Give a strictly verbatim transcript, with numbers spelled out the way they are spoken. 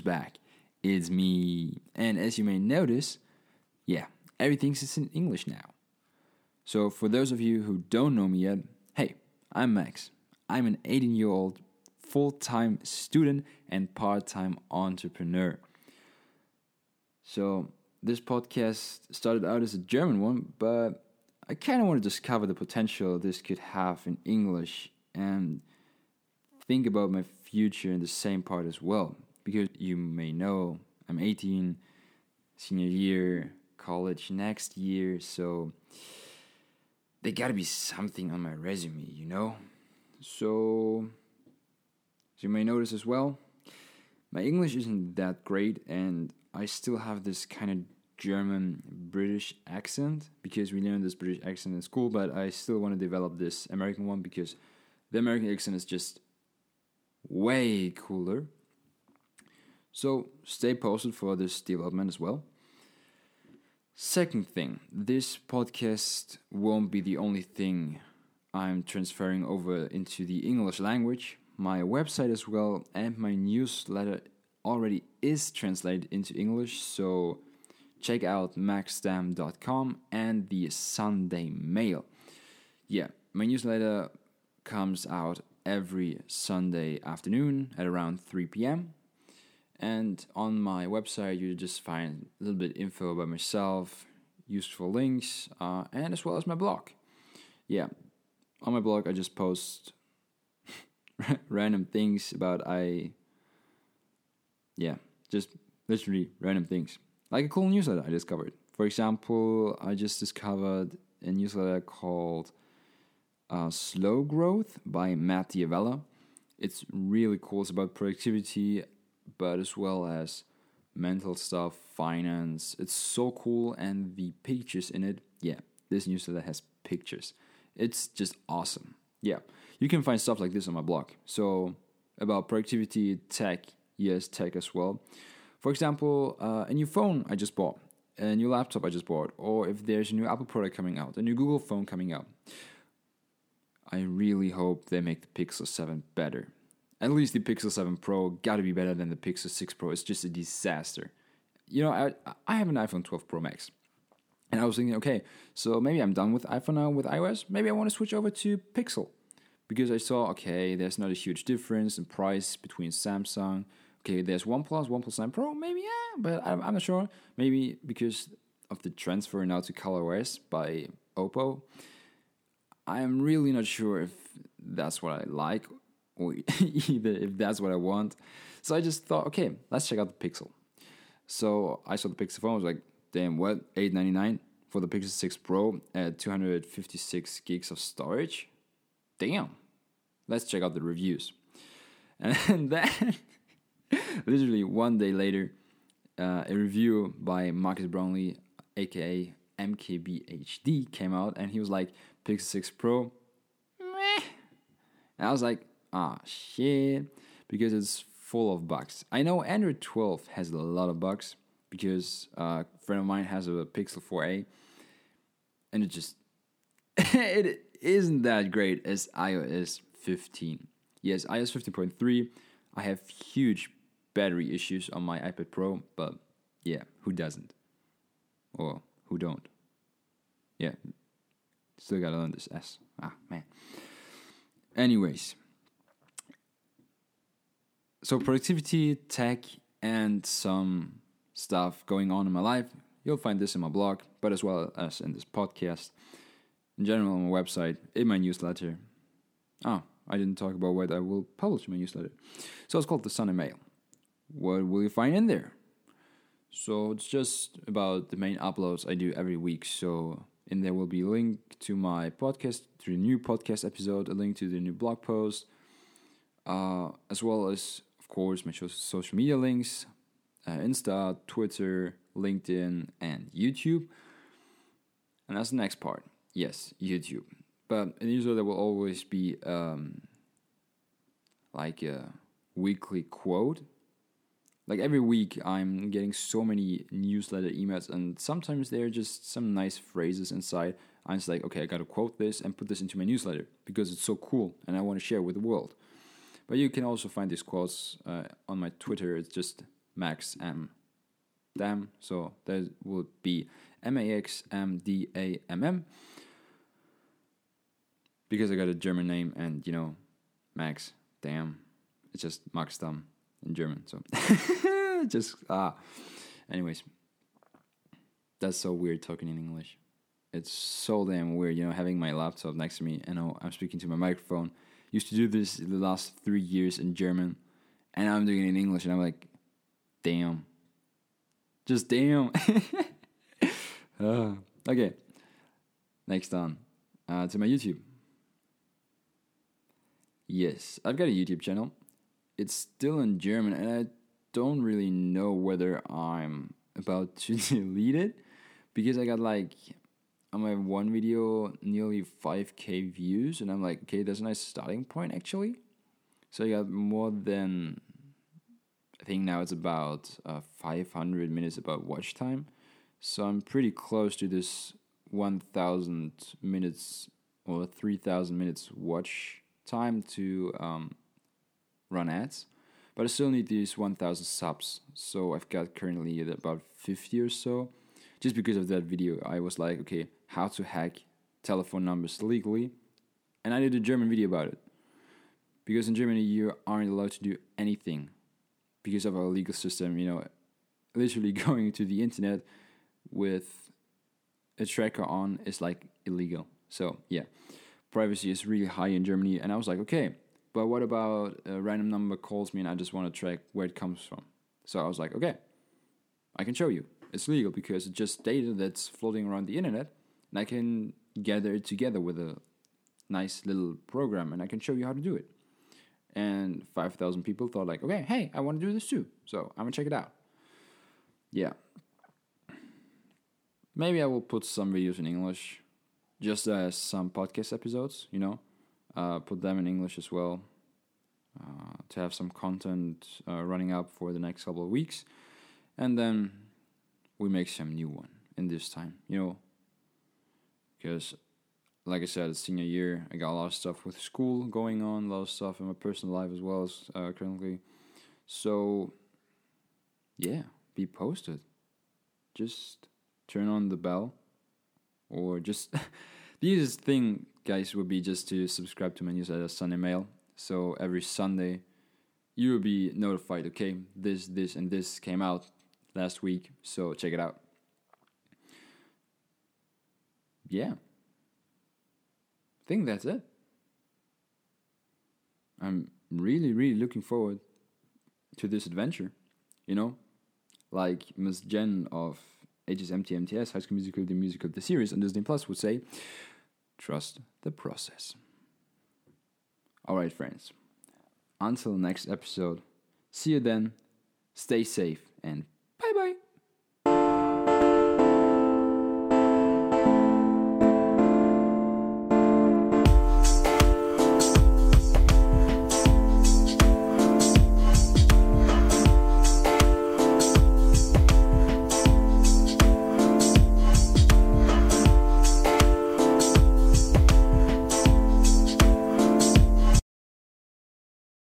back. It's me. And as you may notice, yeah, everything's in English now. So for those of you who don't know me yet, hey, I'm Max. I'm an eighteen-year-old full-time student and part-time entrepreneur. So this podcast started out as a German one, but I kind of want to discover the potential this could have in English and think about my future in the same part as well. Because you may know I'm eighteen, senior year, college next year, so there gotta be something on my resume, you know? So, as you may notice as well, my English isn't that great, and I still have this kind of German British accent because we learned this British accent in school, but I still want to develop this American one because the American accent is just way cooler. So stay posted for this development as well. Second thing, this podcast won't be the only thing I'm transferring over into the English language. My website as well and my newsletter already is translated into English, so check out max stam dot com and the Sunday Mail. Yeah, my newsletter comes out every Sunday afternoon at around three p.m. And on my website, you just find a little bit info about myself, useful links, uh, and as well as my blog. Yeah, on my blog, I just post random things about I, yeah, just literally random things. Like a cool newsletter I discovered. For example, I just discovered a newsletter called uh, Slow Growth by Matt Diavella. It's really cool. It's about productivity, but as well as mental stuff, finance. It's so cool, and the pictures in it, yeah, this newsletter has pictures. It's just awesome. Yeah, you can find stuff like this on my blog. So about productivity, tech, yes, tech as well. For example, uh, a new phone I just bought, a new laptop I just bought, or if there's a new Apple product coming out, a new Google phone coming out. I really hope they make the Pixel seven better. At least the Pixel seven Pro gotta be better than the Pixel six Pro. It's just a disaster. You know, I I have an iPhone twelve Pro Max. And I was thinking, okay, so maybe I'm done with iPhone now with iOS. Maybe I want to switch over to Pixel. Because I saw, okay, there's not a huge difference in price between Samsung. Okay, there's OnePlus, OnePlus nine Pro, maybe, yeah, but I'm, I'm not sure. Maybe because of the transfer now to ColorOS by Oppo. I'm really not sure if that's what I like or either if that's what I want. So I just thought, okay, let's check out the Pixel. So I saw the Pixel phone. I was like, damn, what? eight ninety-nine for the Pixel six Pro at two hundred fifty-six gigs of storage? Damn. Let's check out the reviews. And then, literally one day later, uh, a review by Marcus Brownlee, aka M K B H D, came out, and he was like, Pixel six Pro, meh. And I was like, ah, shit, because it's full of bugs. I know Android twelve has a lot of bugs, because uh, a friend of mine has a Pixel four a, and it just, it isn't that great as iOS fifteen. Yes, iOS fifteen point three, I have huge battery issues on my iPad Pro, but yeah, who doesn't? Or who don't? Yeah, still gotta learn this S. Ah, man. Anyways, so productivity, tech, and some stuff going on in my life, you'll find this in my blog, but as well as in this podcast. In general, on my website, in my newsletter. Oh, I didn't talk about what I will publish in my newsletter. So it's called the Sunday Mail. What will you find in there? So it's just about the main uploads I do every week. So in there will be a link to my podcast, to the new podcast episode, a link to the new blog post, uh, as well as, of course, my social media links, uh, Insta, Twitter, LinkedIn, and YouTube. And that's the next part. Yes, YouTube. But in the newsletter, there will always be um, like a weekly quote. Like every week, I'm getting so many newsletter emails, and sometimes there are just some nice phrases inside. I'm just like, okay, I got to quote this and put this into my newsletter because it's so cool, and I want to share with the world. But you can also find these quotes uh, on my Twitter. It's just Max M. Dam. So that would be M A X M D A M M. Because I got a German name and, you know, Max, damn. It's just Max Dam in German. So just, ah. Anyways. That's so weird talking in English. It's so damn weird, you know, having my laptop next to me and I'm speaking to my microphone. Used to do this the last three years in German, and I'm doing it in English, and I'm like, damn. Just damn. uh, okay. Next on. Uh, to my YouTube. Yes, I've got a YouTube channel. It's still in German, and I don't really know whether I'm about to delete it, because I got like, on my one video, nearly five K views, and I'm like, okay, that's a nice starting point, actually. So I got more than, I think now it's about uh, five hundred minutes about watch time. So I'm pretty close to this one thousand minutes or three thousand minutes watch time to um, run ads. But I still need these one thousand subs. So I've got currently at about fifty or so. Just because of that video, I was like, okay, how to hack telephone numbers legally. And I did a German video about it. Because in Germany, you aren't allowed to do anything because of our legal system. You know, literally going to the internet with a tracker on is like illegal. So, yeah, privacy is really high in Germany. And I was like, okay, but what about a random number calls me and I just want to track where it comes from? So I was like, okay, I can show you. It's legal because it's just data that's floating around the internet, and I can gather it together with a nice little program, and I can show you how to do it. And five thousand people thought like, okay, hey, I want to do this too, so I'm going to check it out. Yeah. Maybe I will put some videos in English, just as some podcast episodes, you know, uh, put them in English as well, uh, to have some content uh, running up for the next couple of weeks, and then we make some new one in this time, you know, because, like I said, it's senior year. I got a lot of stuff with school going on, a lot of stuff in my personal life as well as uh, currently. So, yeah, be posted. Just turn on the bell, or just the easiest thing, guys, would be just to subscribe to my newsletter, Sunday Mail. So every Sunday, you will be notified. Okay, this, this, and this came out last week, so check it out. Yeah. I think that's it. I'm really, really looking forward to this adventure. You know, like Miss Jen of H S M T M T S, High School Musical, the musical, the series on Disney Plus would say, trust the process. Alright, friends. Until next episode, see you then, stay safe, and bye-bye.